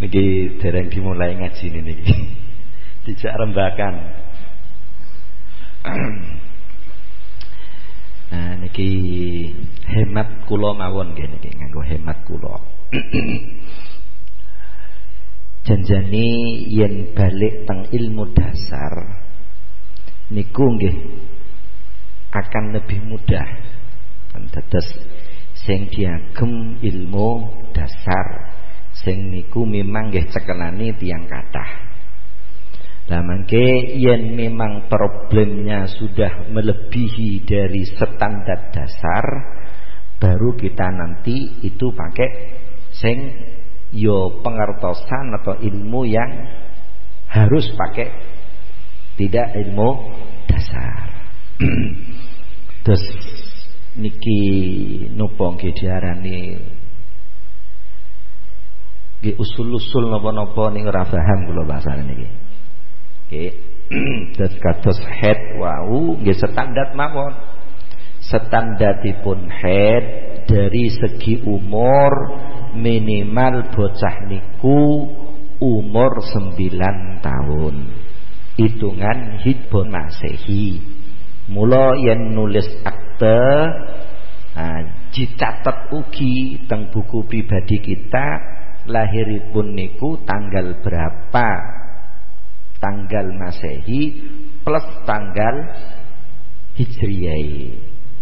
Niki dereng dimulai ngaji niki. Dijak rembakan. Nah niki hemat kula mawon nggih niki nganggo hemat kula. Janjane yen balik teng ilmu dasar niku nggih akan lebih mudah. Dados sing diagem ilmu dasar sing niku memang nggih cekelane tiyang kathah. Lah mangke yen memang problemnya sudah melebihi dari standar dasar, baru kita nanti itu pakai sing yo pengertosan atau ilmu yang harus pakai, tidak ilmu dasar. Terus niki nopo nggih diarani nggih usul-usul napa-napa ning ora paham kula bahasane niki. Nggih. Terus kados head wau nggih standar mawon. Standaripun head dari segi umur minimal bocah niku umur 9 tahun. Hitungan Hijriyah Masehi. Mula yen nulis akte dicatet ugi teng buku pribadi kita lahiripun niku tanggal berapa, tanggal Masehi plus tanggal Hijriyah.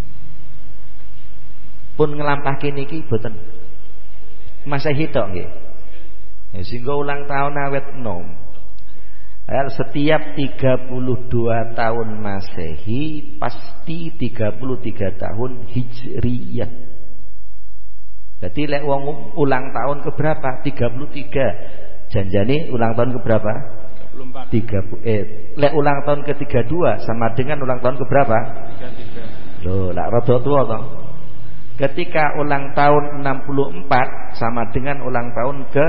Pun nglampahke niki boten Masehi tok nggih. Sehingga ulang tahun awet enom. Setiap 32 tahun Masehi pasti 33 tahun Hijriyah. Jadi lek wong ulang tahun ke berapa? 33. Janjane ulang tahun ke berapa? 34. Lek ulang tahun ke 32 sama dengan ulang tahun ke berapa? 33. Loh, lak rada tua toh. Ketika ulang tahun 64 sama dengan ulang tahun ke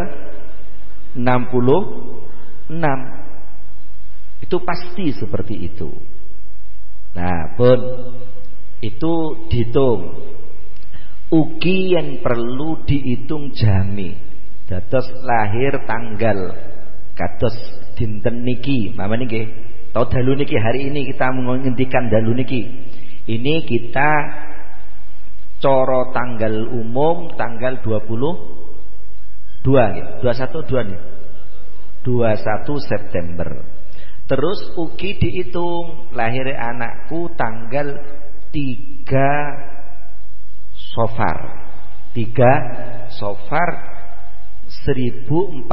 66. Itu pasti seperti itu. Nah, pun itu dihitung. Ugi yang perlu dihitung jami. Dados lahir tanggal kados dinten niki, mama niki. Tahu dalu niki hari ini kita menghentikan dalu niki. Ini kita coro tanggal umum tanggal 22 nih. 21 nih. 21 September. Terus ugi dihitung lahir anakku tanggal 3 Sofar 3 Sofar 1442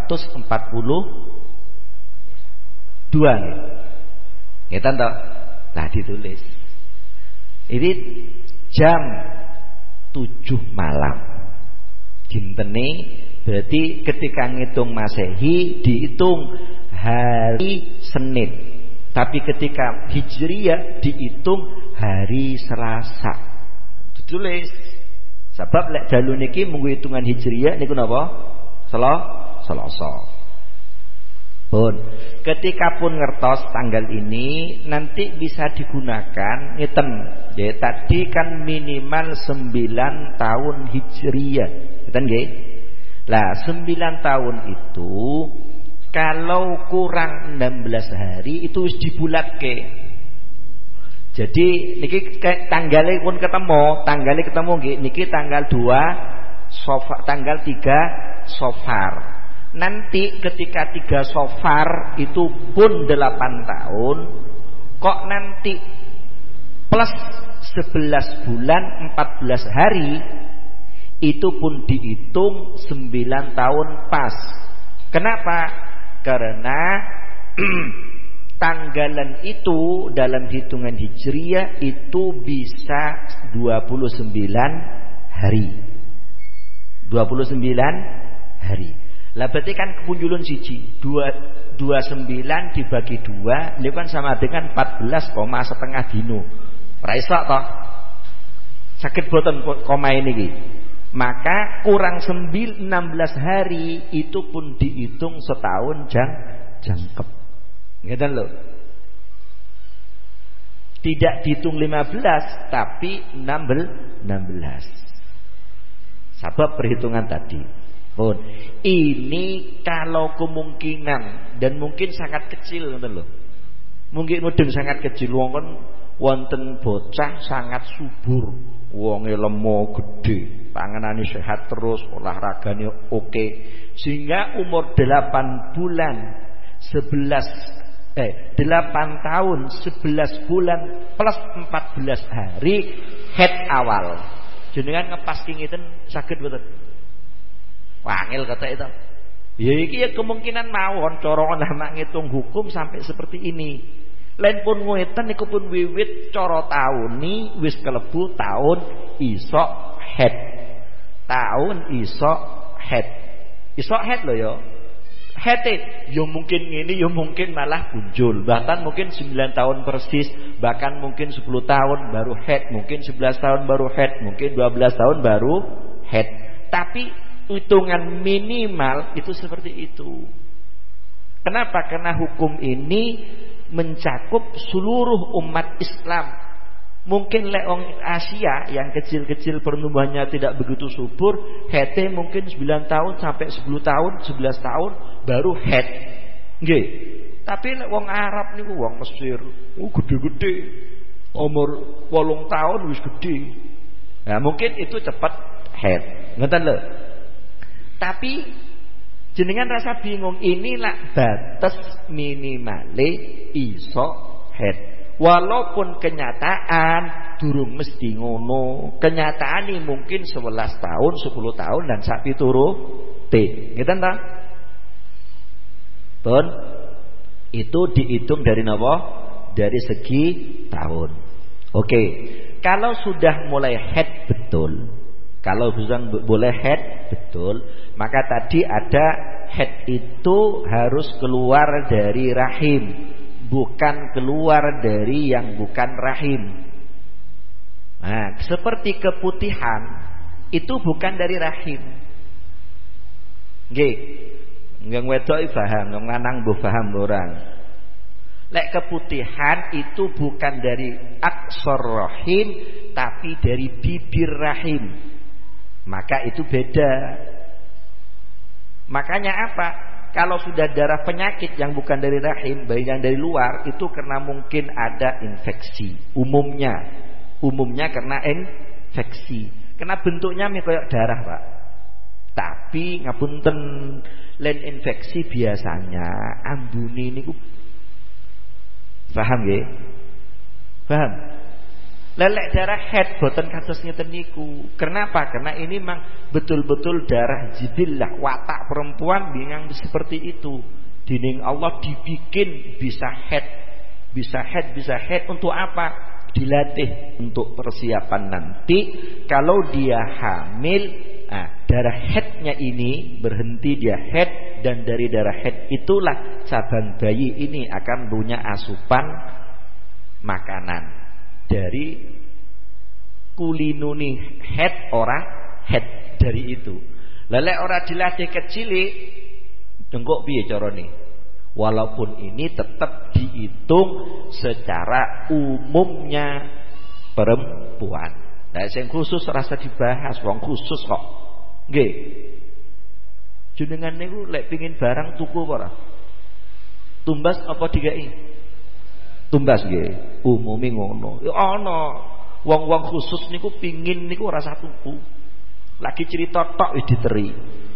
nih. Ngeten toh? Lah ditulis. Ini jam 7 malam. Dintene berarti ketika ngitung Masehi dihitung hari Senin. Tapi ketika Hijriyah dihitung hari Selasa. Ditulis. Sebab lek dalu niki munggu hitungan Hijriyah niku napa? Selasa. Pun ketika pun ngertos tanggal ini nanti bisa digunakan ngeten. Ya tadi kan minimal 9 tahun Hijriyah. Ngeten nggih? Lah 9 tahun itu kalau kurang 16 hari itu wis dibulatke. Jadi niki tanggalnya pun ketemu nggih niki tanggal 2 Sofar, tanggal 3 Sofar. Nanti ketika 3 Sofar itu pun 8 tahun, kok nanti plus 11 bulan 14 hari itu pun dihitung 9 tahun pas. Kenapa? Karena tanggalan itu dalam hitungan Hijriyah itu bisa 29 hari. 29 hari. Lah berarti kan kepunjulun siji 29 dibagi 2 itu kan sama dengan 14,5 dino. Ora iso toh. Sakit boten koma ini. Maka kurang 16 hari itu pun dihitung setahun jangkep. Ngeten lho. Tidak dihitung 15 tapi 16. Sebab perhitungan tadi. Pun ini kalau kemungkinan dan mungkin sangat kecil ngoten lho. Mungkin mudeng sangat kecil wong kan wonten bocah sangat subur, wonge lemo gede, panganane sehat terus, olahragane oke. Sehingga umur 8 bulan 8 tahun 11 bulan plus 14 hari head awal. Jenengan ngepas ngiten saged mboten? Wangil kata itu. Ya iki ya kemungkinan mawon cara ana ngitung hukum sampai seperti ini. Lain pun ngeten niku pun wiwit cara tauni wis kelebu tahun iso head. Tahun iso head. Iso head lho ya. Head yo mungkin ngene yo mungkin malah punjul. Bahkan mungkin 9 tahun persis, bahkan mungkin 10 tahun baru head, mungkin 11 tahun baru head, mungkin 12 tahun baru head. Tapi hitungan minimal itu seperti itu. Kenapa? Karena hukum ini mencakup seluruh umat Islam. Mungkin lek wong Asia yang kecil-kecil pertumbuhannya tidak begitu subur, head mungkin 9 tahun sampai 10 tahun, 11 tahun baru head. Nggih. Tapi lek wong Arab niku wong Mesir, gede-gede. Umur 8 tahun wis gede. Nah, mungkin itu cepat head. Ngoten lho. Tapi jenengan rasa bingung, inilah batas minimale iso head. Walaupun kenyataan durung mesti ngono. Kenyataan ini mungkin 11 tahun, 10 tahun dan sak piturute. Ngeten ta? Pun itu dihitung dari napa? Dari segi tahun. Oke. Kalau sudah mulai head betul. Kalau sudah boleh head betul, maka tadi ada head itu harus keluar dari rahim, bukan keluar dari yang bukan rahim. Nah, seperti keputihan itu bukan dari rahim. Nggih. Yang wedok paham, yang lanang mbuh paham orang. Lek keputihan itu bukan dari aksor rahim, tapi dari bibir rahim. Maka itu beda. Makanya apa? Kalau sudah darah penyakit yang bukan dari rahim, baik yang dari luar, itu karena mungkin ada infeksi. Umumnya karena infeksi. Karena bentuknya kayak darah, Pak. Tapi ngapunten, len infeksi biasanya ambune niku. Paham nggih? Paham? Lelek darah head boten kados ngeten niku. Kenapa? Karena ini memang betul-betul darah jibillah, watak perempuan bingang seperti itu. Dining Allah dibikin bisa head untuk apa? Dilatih untuk persiapan nanti kalau dia hamil. Darah headnya ini berhenti dia head, dan dari darah head itulah cabang bayi ini akan punya asupan makanan. Dari kulinuni head ora head dari itu. Lelek ora dilatih kecilik dengkok piye carane? Walaupun ini tetap dihitung secara umumnya perempuan. Nah, sing khusus rasa dibahas, wong khusus kok. Nggih. Jenengan niku lek pengin barang tuku apa ora? Tumbas apa dikai? Tumbas nggih, umume ngono. Ya ana wong-wong khusus niku pingin niku ora usah tuku. Lagi cerita tok wis diteri.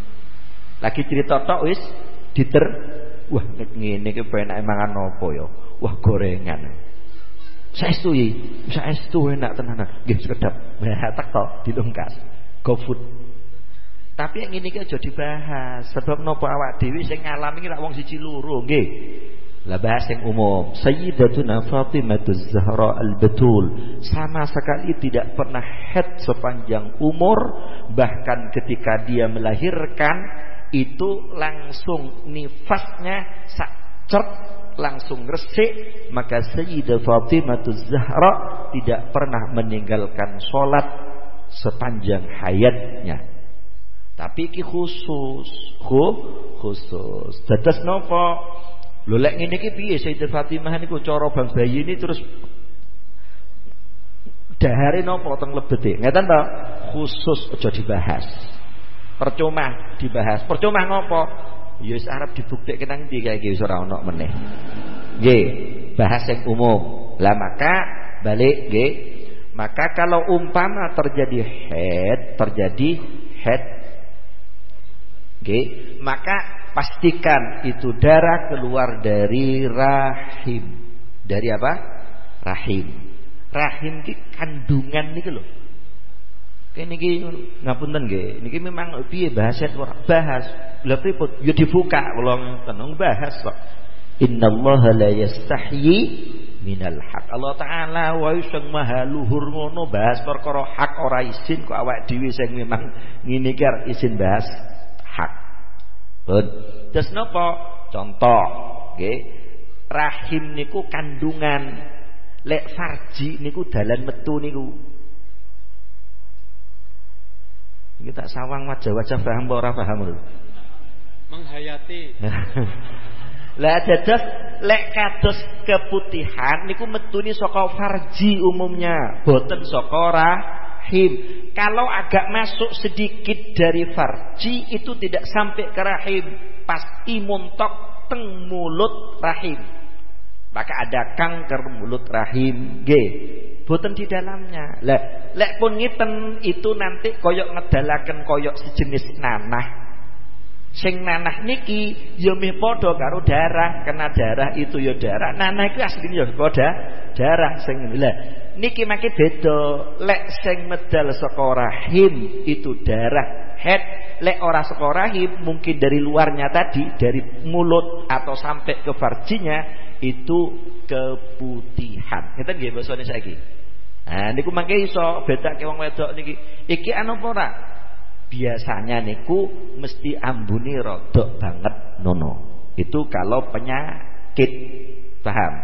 Wah, ngene iki penake mangan apa ya? Wah, gorengan. Saestu enak tenanan. Nggih sekedap. Wah, tek tok dilungkas. GoFood. Tapi yang ini aja dibahas. Sebab napa awak dhewe sing ngalami iki lak wong siji loro, nggih. Lah bahas yang umum. Sayyidatuna Fatimah Zahra Al-Batul sama sekali tidak pernah head sepanjang umur. Bahkan ketika dia melahirkan itu langsung nifasnya sakcert, langsung resik. Maka Sayyidah Fatimah Zahra tidak pernah meninggalkan sholat sepanjang hayatnya. Tapi iki khusus. Dados napa? Lho lek ngene iki piye Sayyidah Fatimah niku cara bang bayi ini terus dahare napa teng lebete. Ngeten ta? khusus aja dibahas. Percuma dibahas. Percuma ngopo? Ya wis arep dibuktikke nang ndi kae iki wis ora ono meneh. Nggih, bahas yang umum. Lah maka balik nggih. Maka kalau umpama terjadi head nggih, maka pastikan itu darah keluar dari rahim. Dari apa? Rahim. Rahim ki kandungan niki lho. Kene iki ngapunten nggih, niki memang piye bahasa ora bahas. Lha pripun? Ya dibuka kula tenung bahas kok. Innallaha la yastahyi minal haq. Allah taala wa sing maha luhur ngono bahas perkara hak ora izin kok awak dhewe sing memang ngene iki arep izin bahas hak. Pun. Terus napa? Contoh, nggih. Rahim niku kandungan. Lek farji niku dalan metu niku. Kita sawang wajah-wajah paham apa ora paham lho. Menghayati. Lah dados lek kados keputihan niku metune saka farji umumnya, boten saka rahim. Kalau agak masuk sedikit dari farji itu tidak sampai ke rahim, pasti muntok teng mulut rahim. Maka ada kanker mulut rahim nggih. Boten di dalamnya. Lah, lek pun ngiten itu nanti koyok ngedalaken koyok sejenis nanah. Sing nanah niki ya meh padha karo darah, kena darah itu ya darah. Nanah iku asline ya darah sing ngene. Lah, niki make beda. Lek sing medal saka rahim itu darah head, lek ora saka rahim mungkin dari luarnya tadi, dari mulut atau sampai ke farjinya itu keputihan. Ngeten nggih basane saiki. Nah niku mangke iso bedake wong wedok niki. Iki anu apa ora? Biasanya niku mesti ambune rodok banget nono. Itu kalau penyakit. Paham?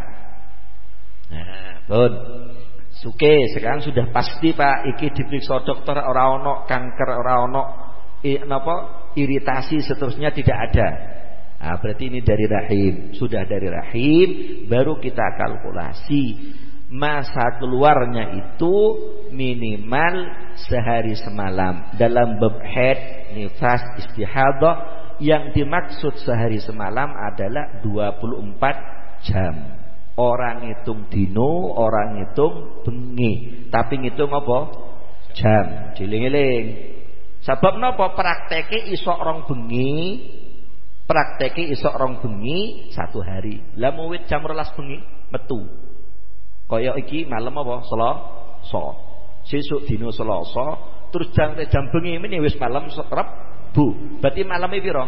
Nah, pun. Suke sekarang sudah pasti Pak, iki diperiksa dokter ora ono kanker, ora ono napa iritasi seterusnya tidak ada. Nah, berarti ini dari rahim. Sudah dari rahim baru kita kalkulasi masa keluarnya itu minimal sehari semalam. Dalam bab haid, nifas, istihadah yang dimaksud sehari semalam adalah 24 jam. Orang hitung dino, orang hitung bengi, tapi ngitung apa? Jam. Diling-eling. Sebab napa prakteke iso rong bengi, prakteki isok rong bengi 1 hari. Lah muwit jam 12 bengi metu. Kaya iki malam apa? Selasa. Sesuk dina Selasa, terus jam bengi meneh wis malam Rebu. Berarti malame pira?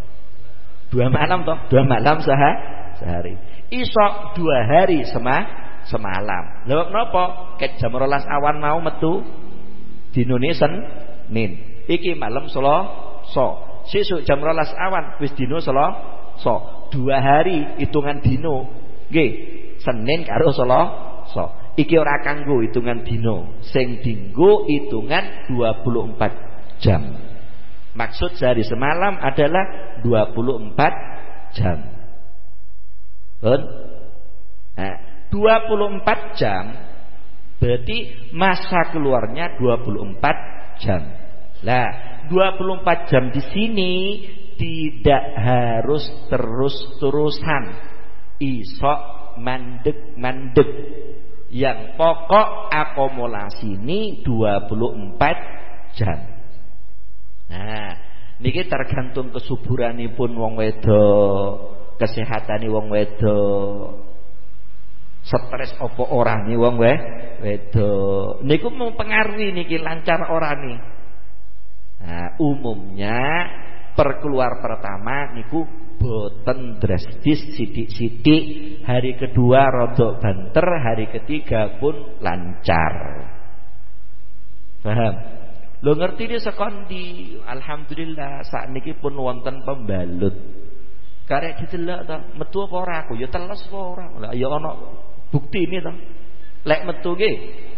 2 malam toh? 2 malam sehari. Isok 2 hari semalam. Lha napa? Ket jam 12 awan mau metu dinane Senin. Iki malam Selasa. Sesuk jam 12 awan wis dino Selasa. 2 hari hitungan dino. Nggih, Senin karo Selasa. Iki ora kanggo hitungan dino, sing dinggo hitungan 24 jam. Maksud sehari semalam adalah 24 jam. Pun? Nah, 24 jam berarti masa keluarnya 24 jam. Lah 24 jam di sini tidak harus terus-terusan isok mandek. Yang pokok akumulasi ini 24 jam. Nah, niki tergantung kesuburanipun wong wedok, kesehatane wong wedok. Stres apa ora nih wong wedok. Niku mempengaruhi niki lancar ora nih. Nah, umumnya perkeluar pertama niku boten drastis sidik-sidik, hari kedua rodok banter, hari ketiga pun lancar. Paham? Lo ngerti dia sekondi, alhamdulillah saat niki pun wonten pembalut. Karek didelok to, metu apa ora aku? Ya teles apa ora? Lah ya ana bukti ini to. Lek metu nggih.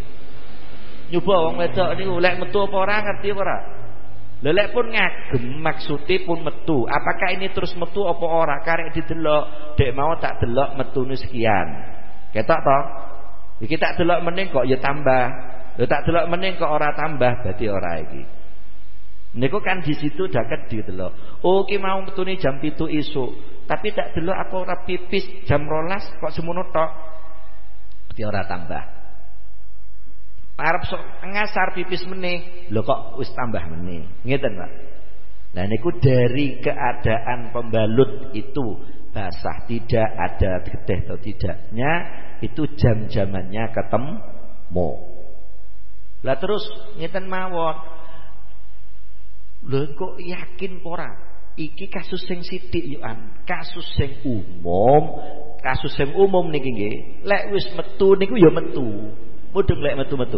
Nyoba wong wedok niku lek metu apa ora ngerti apa ora? Lelek pun ngagem maksudnya pun metu. Apakah ini terus metu apa ora? Karek didelok, dek mau tak delok metune sekian. Ketok toh? Iki tak delok meneh kok ya tambah. Lho tak delok meneh kok ora tambah, berarti ora iki. Niku kan di situ daket didelok. Oh ki mau metune jam 7 isuk, tapi tak delok aku ora pipis jam 12 kok semono tok. Berarti ora tambah. Arep sok ngasar pipis meneh, lho kok wis tambah meneh. Ngeten, Pak. Nah niku dari keadaan pembalut itu basah tidak ada getih atau tidaknya, itu jam-jamannya ketemu. Lah terus ngeten mawon. Lho kok yakin ora? Iki kasus sing sithik yo kasus sing umum. Kasus sing umum niki nggih. Lek wis metu niku ya metu. Mudeng lek metu-metu.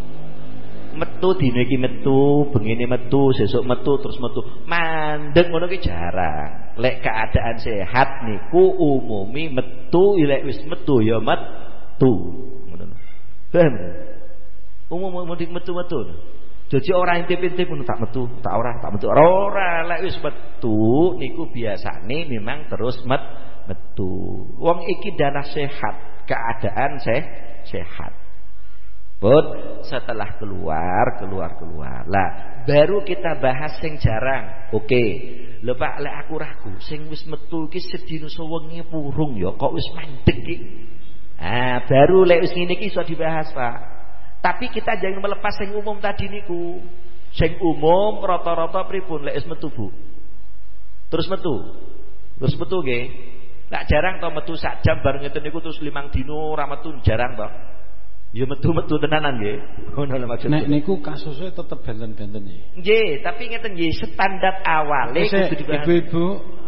Metu dina iki metu, bengine metu, sesuk metu, terus metu. Mandeg ngono ki jarang. Lek keadaan sehat niku umumi metu, lek wis metu ya metu. Ngono. Paham? Umum metu-metu. Jadi orang intip-intip pun tak metu, tak metu. Ora lek wis metu niku biasane memang terus metu. Wong iki dana sehat, keadaan sehat. But setelah keluar. Lah baru kita bahas sing jarang. Oke. Lho Pak, lek aku ragu sing wis metu iki sedina sewengi purung ya kok wis mandeg iki. Baru lek wis ngene iki iso dibahas, Pak. Tapi kita jangan melepas sing umum tadi niku. Sing umum rata-rata pripun lek wis metu, Bu? Terus metu nggih. Lek jarang to metu sak jam bareng ngeten niku terus 5 dino ora metu jarang to. Ya metu-metu tenanan nggih. Ngono lho maksudnya. Nek niku kasusnya tetep benten-benten nggih. Nggih, tapi ngeten nggih standar awale kudu dibahas. Ibu-ibu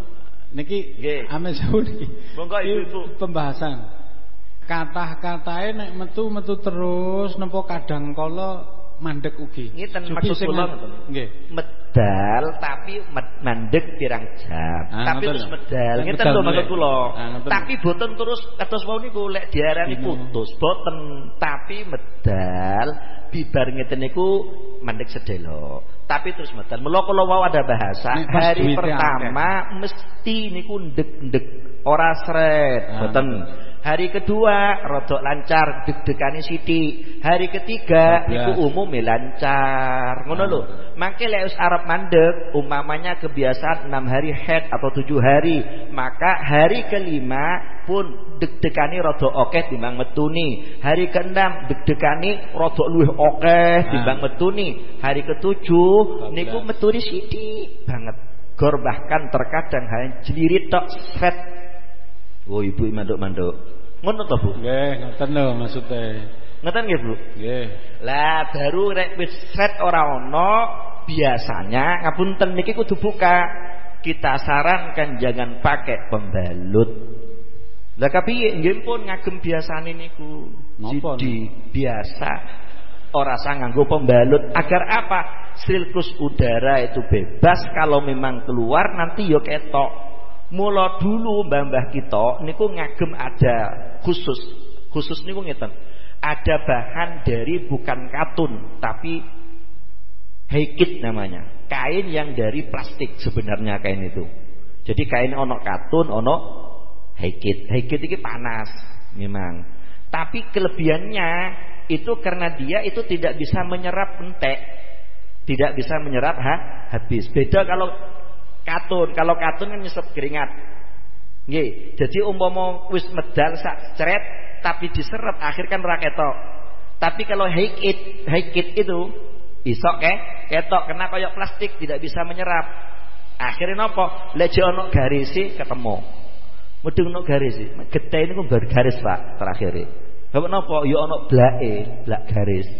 niki ame sewu niki. Monggo ibu-ibu pembahasan. Kathah-katahe nek metu terus nempo kadang kala mandek ugi. Ngeten maksud kula nggih. Medal tapi mandek pirang jam. Tapi terus medal. Ngeten lho maksud kula. Tapi boten terus kados wau niku lek diarani putus, boten. Tapi medal bibar ngeten niku mandek sedelo. Tapi terus medal. Mula kula wau ada bahasa hari pertama mesti niku ndek-ndek ora sret, boten. Hari kedua rodok lancar, deg-degane sithik. Hari ketiga niku umume lancar. Ngono lho. Mangke lek wis arep mandeg, umpamanya kebiasaan 6 hari head atau 7 hari, maka hari kelima pun deg-degane rodok akeh timbang metuni. Hari keenam deg-degane rodok luwih akeh timbang metuni. Hari ketujuh niku metuni sithik banget. Gor bahkan terkadang hanya jelirit tok sret. Oh ibu manduk-manduk. Ngono to, Bu? Nggih, ngoten lho maksude. Ngoten nggih, Bu? Nggih. Lah baru rek wis set ora ono, biasanya ngapunten niki kudu buka. Kita sarankan jangan pakai pembalut. Lah kepiye nggih pun ngagem biasane niku. Jadi biasa ora usah nganggo pembalut agar apa? Sirkulasi udara itu bebas, kalau memang keluar nanti yo ketok. Mula dulu mbah-mbah kita niku ngagem ada khusus niku ngeten. Ada bahan dari bukan katun tapi haikit namanya. Kain yang dari plastik sebenarnya kain itu. Jadi kain ono katun, ono haikit. Haikit iki panas memang. Tapi kelebihannya itu karena dia itu tidak bisa menyerap entek. Tidak bisa menyerap habis. Beda kalau katun kan nyesep keringat. Nggih, jadi umpama wis medal sak cret tapi diserap akhir kan ora ketok. Tapi kalau haikit itu iso ketok kena kaya plastik tidak bisa menyerap. Akhirnya napa? Lek ono garisi ketemu. Mudeng ono garisi. Getih niku bar garis, Pak, terakhir. Bapak napa? Ya ono blak garis.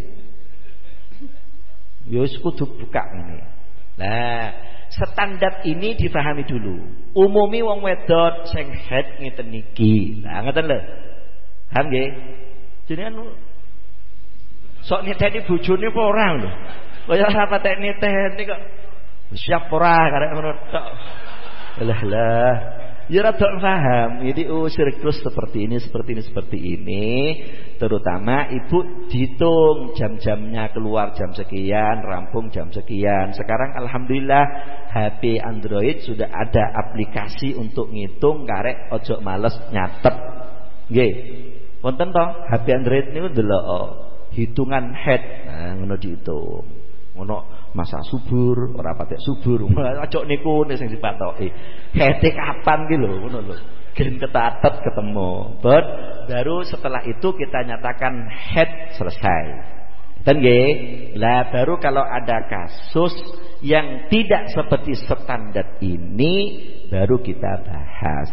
Ya wis kudu buka ngene. Lah standar ini dipahami dulu. Umumi wong wedok sing head ngeten niki. Nah, ngeten lho. Paham nggih? Jenengan sok niteni bojone apa ora lho. Kaya ora patek niteni kok. Siap ora karek ngono tok. Lah. Ya rada paham. Jadi siklus seperti ini. Terutama ibu dihitung jam-jamnya keluar jam sekian, rampung jam sekian. Sekarang alhamdulillah HP Android sudah ada aplikasi untuk ngitung karek ojo males nyatet. Nggih. Wonten to HP Android niku ndelok. hitungan head. Nah, ngono diitung. Ngono masa subur, ora patek subur. Aja niku nek sing dipatoki. Head-e kapan ki lho, ngono lho. Gen ketatet ketemu. Baru setelah itu kita nyatakan head selesai. Dan lah baru kalau ada kasus yang tidak seperti standar ini baru kita bahas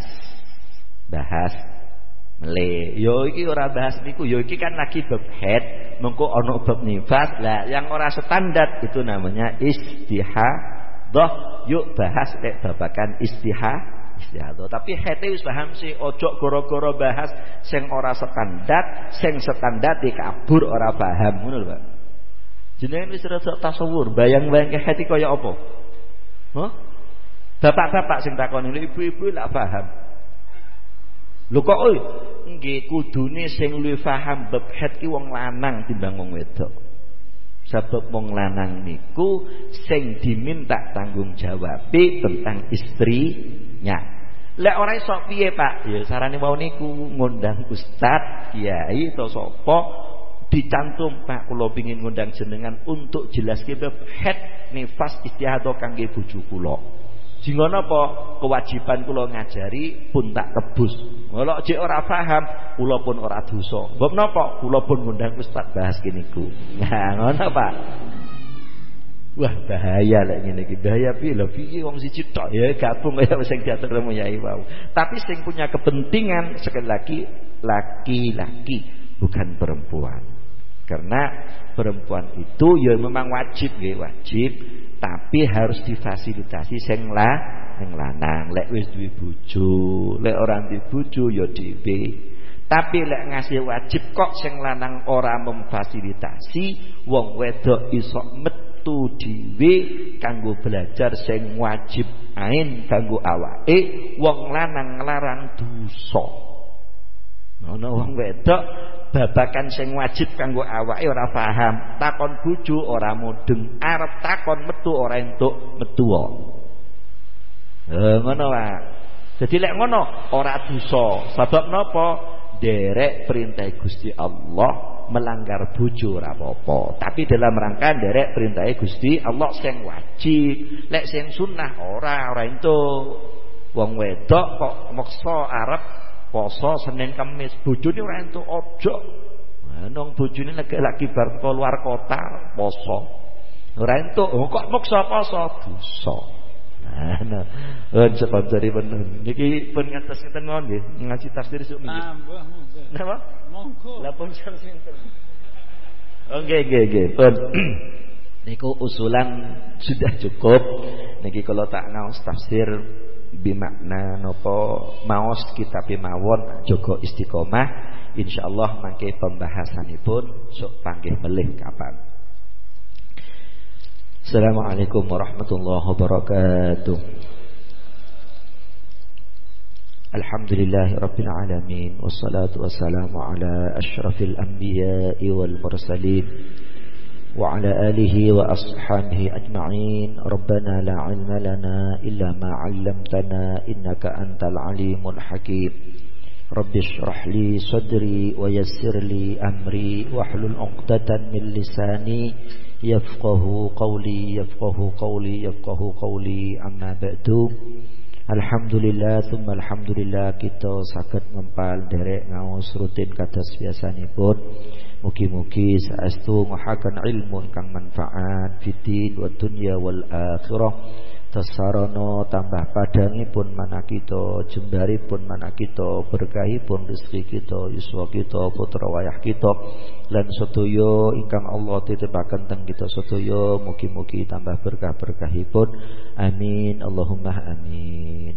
meleh. Yo iki ora bahas niku, yo iki kan lagi bab head, mengko ana bab nifas. Lah yang ora standar itu namanya istihadah. Yuk bahas babakan istihadah. Tapi hete wis paham sih, ojo goro-goro bahas sing ora standar, sing standar dikabur ora paham, ngono lho, Pak. Jenengan wis rada tasawur, bayang-bayang hete kaya apa? Hah? Bapak-bapak sing takoni, ibu-ibu lak paham. Lho kok nggih kudune sing luwih paham bab het ki wong lanang timbang wong wedok. Sebab wong lanang niku sing diminta tanggung jawab tentang istrinya. Lek ora iso piye, Pak? Ya sarane wau niku ngundang ustaz, kiai atau sapa dicantum, Pak, kula pengin ngundang jenengan untuk jelaske bab het nifas istihadah kangge bojo kula. Sehingga napa kewajiban kula ngajari pun tak tebus. Kalau jek ora paham, kula pun ora dosa. Sebab napa? Kula pun ngundang ustaz bahas kene niku. Nah, ngono Pak. Wah, bahaya lek ngene iki. Bahaya piye lho, piye wong siji tok ya gabung kaya sing diatur yai wau. Tapi sing punya kepentingan sekali lagi laki-laki, bukan perempuan. Karena perempuan itu ya memang wajib nggih, wajib. Tapi harus difasilitasi sing lanang. Lek wis duwe bojo, lek ora duwe bojo ya dhewe. Tapi lek ngasih wajib kok sing lanang ora memfasilitasi, wong wedok iso metu dhewe kanggo belajar sing wajib ain kanggo awake, wong lanang nglarang dosa. Ana wong wedok babakan sing wajib kanggo awake ora paham, takon bojo ora mudeng, arep takon metu ora entuk metu. Ngono wae. Dadi lek ngono ora dosa. Sebab napa? Derek perintah Gusti Allah, melanggar bojo ora apa-apa. Tapi dalam rangka derek perintah Gusti Allah sing wajib. Lek sing sunah ora entuk. Wong wedok kok maksa arep poso Senin Kamis, bojone ora entuk ojo. Nang bojone lagi bar keluar kota poso. Ora entuk, kok maksa poso dosa. Nah, sponsori pun niki pun ngatos ngeten mawon nggih, ngaji tafsir sok nggih. Nambah monggo. Napa? Monggo. Lah pun sinten. Nggih. Pun niku usulan sudah cukup. Niki kalau tak ngaos tafsir bimakna napa maos kitab mawon jaga istiqomah, insyaallah mangke pembahasanipun sok panggih melih kapan. Assalamualaikum warahmatullahi wabarakatuh. Alhamdulillahirabbil alamin wassalatu wassalamu ala asyrafil anbiya'i wal mursalin wa ala alihi wa ashabihi ajma'in. Rabbana la 'ilma lana illa ma 'allamtana innaka antal alimul hakim. Rabbi shrah li sadri wa yassir li amri wahlul 'uqdatan min lisani yafqahu qawli amma ba'du. Alhamdulillah thumma alhamdulillah kita saged ngempal derek ngaos rutin kados biasanipun. Mugi-mugi saestu ngahaken ilmu ingkang manfaat fiddin wa dunya wal akhirah. Tasarana tambah padangipun manakita, jembaripun manakita, berkahipun rezeki kita, yuswa kita, putra wayah kita, lan sedaya ingkang Allah titipaken teng kita sedaya mugi-mugi tambah berkah-berkahipun. Amin Allahumma amin.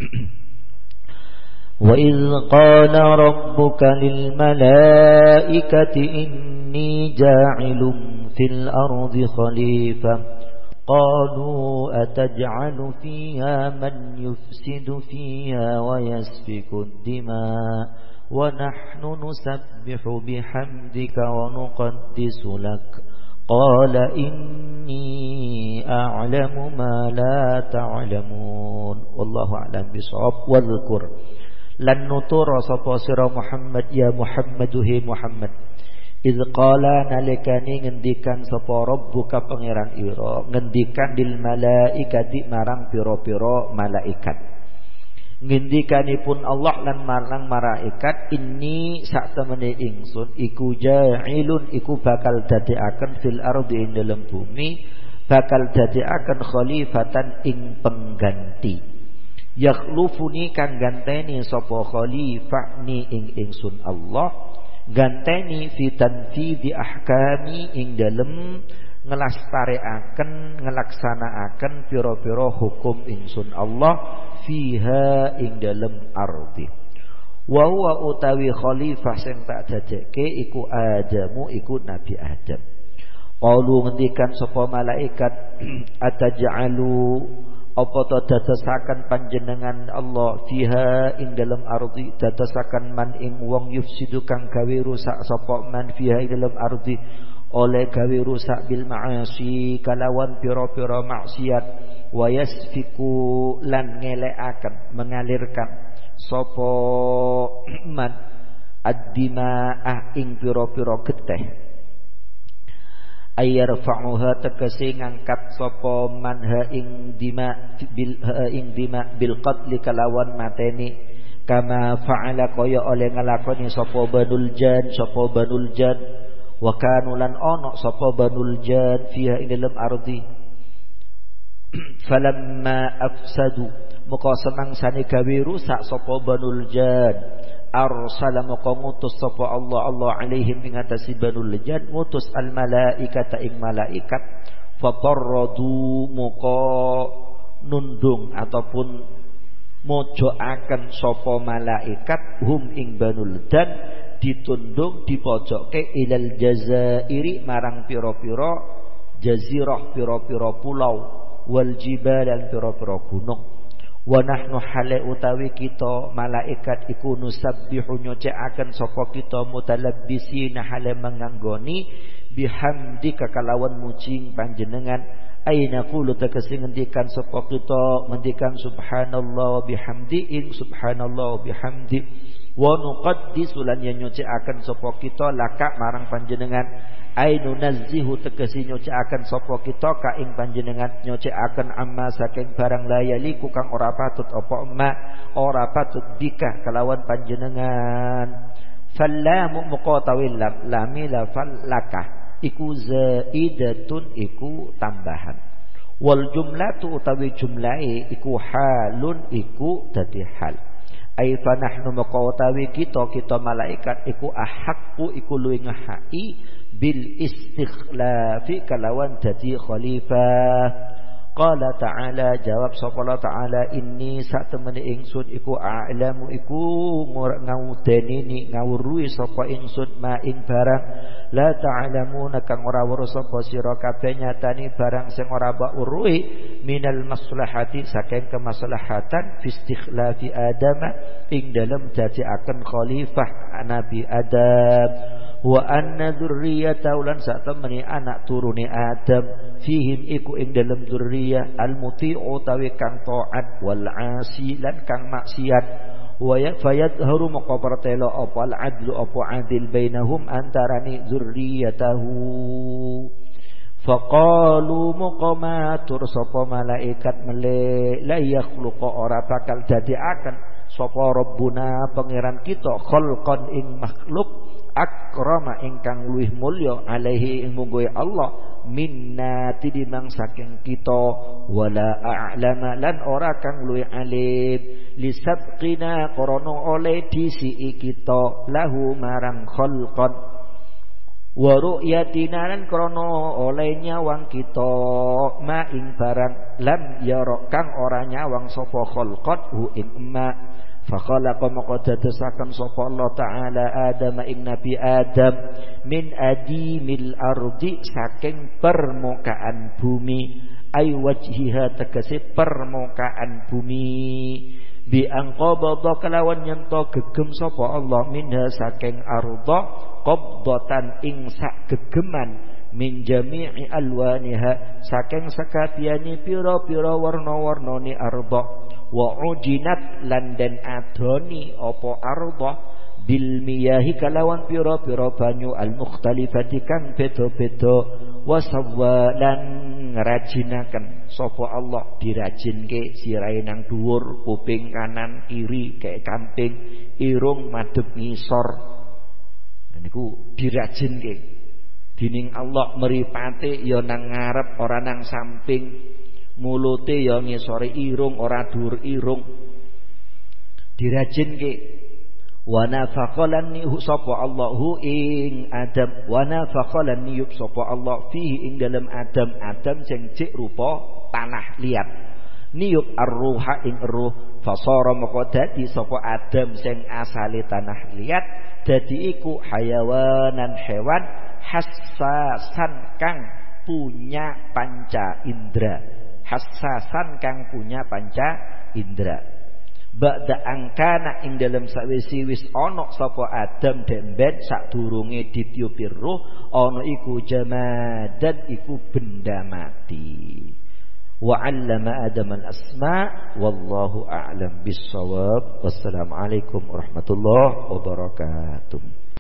Wa idz qala rabbuka lil malaikati inni ja'ilun fil ardi khalifah قالوا أتجعل فيها من يفسد فيها ويسفك الدماء ونحن نسبح بحمدك ونقدس لك قال إني أعلم ما لا تعلمون والله أعلم بالصواب. واذكر lan nutura sapa sira Muhammad ya Muhammad he Muhammad Idz qala nalikani ngendikan sapa rabbuka pangeran ira ngendikan lil malaikati marang pira-pira malaikat. Ngendikanipun Allah lan marang malaikat inni sak temene ingsun iku ja'ilun iku bakal dadekaken fil ardi ing dalem bumi bakal dadekaken khalifatan ing pengganti. Yakhlufuni kang ganteni sapa khalifah ni ing ingsun Allah ganteni fi tanfidhi ahkami ing dalem ngelastareaken ngelaksanaaken pira-pira hukum ingsun Allah fiha ing dalem ardi. Wa huwa utawi khalifah sing tak dadekke iku Adamu iku Nabi Adam. Qalu ngendikan sapa malaikat ataj'alu apa to dadosaken panjenengan Allah fiha ing dalam ardi dadosaken man ing wong yufsidu kang gawe rusak sapa man fiha ing dalam ardi oleh gawe rusak bil ma'asi kalawan pira-pira maksiat wa yasfiku lan ngelekaken mengalirkan sapa man ad-dima'ah ing pira-pira getih ayarfa'uha tegese ngangkat sapa manha ing dima bil qatl kalawan mateni kama fa'ala kaya oleh nglakoni sapa banul jan wa kanu lan ana sapa banul jan fiha ing dalam ardi falamma afsadu maka semangsane gawe rusak sapa banul jan arsala maka ngutus sapa Allah alaihim ing atase banul jan ngutus al malaikata ing malaikat fatarradu maka nundung ataupun mojoaken sapa malaikat hum ing banul jan ditundung dipojokke ilal jazairi marang pira-pira jazirah pira-pira pulau wal jibal lan pira-pira gunung. Wa nahnu hale utawi kita malaikat iku nusabbihu nyucikaken sapa kita mutalabbisina hale menganggoni bihamdika kalawan muji panjenengan aina qulu tegese ngendikan sapa kita ngendikan subhanallah wa bihamdi ing subhanallah wa bihamdi wa nuqaddisu lan nyucikaken sapa kita laka marang panjenengan ainu nazzihu tegese nyucikaken sapa kita ka ing panjenengan nyucikaken amma saking barang layaliku kang ora patut apa ma ora patut bika kalawan panjenengan fallamu muqatawil lamila fallaka iku zaidatun iku tambahan wal jumlatu utawi jumlahe iku halun iku dadi hal ai fa nahnu muqatawi kita malaikat iku ahaqqu iku luwih ngahai bil istikhlafi kalawan dadi khalifah. Qala ta'ala jawab sapa Allah ta'ala inni sak temene ingsun iku a'lamu iku ngawudeni ngawruhi sapa ingsun ma ing barang la ta'lamuna kang ora weruh sapa sira kabeh nyatani barang sing ora mbok weruhi minal maslahati saking kemaslahatan fi istikhlafi Adam ing dalem dadiaken khalifah Nabi Adam wa anna dzurriyyata ulan sak temene anak turune Adam fihim iku ing dalem dzurriyyah al-muti'u tawi kang taat wal 'asi lan kang maksiat wa yadhharu maqabartela apa al-'adlu apa adil bainahum antarani dzurriyyatahu faqalu muqamatur sapa malaikat mele la yakhluqa ora bakal dadiaken sapa rabbuna pangeran kita khalqan ing makhluk akrama ingkang luwih mulya alaihi ing mungguhe Allah minna tidimang saking kita wala a'lama lan ora kang luwih alim lisabqina krana oleh disi kita lahu marang khalqan wa ru'yatina lan krana oleh nyawang kita ma ing barang lam yara kang ora nyawang sapa khalqat hu ing ma fakhalaqa maqaddasakan sapa Allah taala Adam ing Nabi Adam min adimil ardi saking permukaan bumi ay wajhiha tegese permukaan bumi bi anqabadha kalawan nyento gegem sapa Allah minha saking arda qabdatan ing sak gegeman min jami'i alwaniha saking sakabehane pira-pira warna-warnane arda wa ujinat lan den adoni apa arda bil miyahi kalawan pira-pira banyu al mukhtalifati kang beda-beda wa sawwalan ngrajinaken sapa Allah dirajinke sirahe nang dhuwur kuping kanan kiri kayak kamping irung madhep ngisor niku dirajinke dening Allah mripate ya nang ngarep ora nang samping mulute ya ngisore irung ora dhuwur irung dirajinke wa nafaqalan nihu sapa Allahu ing Adam wa nafaqalan nihu sapa Allah fihi ing dalam Adam sing cek rupa tanah liat niup ar-ruha ing ruh fasara maka dadi sapa Adam sing asale tanah liat dadi iku hayawanan hewan hassasan kang punya panca indra hassasan kang punya panca indra ba'da angkana ing dalam sawise wis ana sapa Adam demben sadurunge ditiupi ruh ana iku jamadan iku benda mati wa 'allama Adam al-asma wallahu a'lam bis-shawab wassalamu alaikum warahmatullahi wabarakatuh.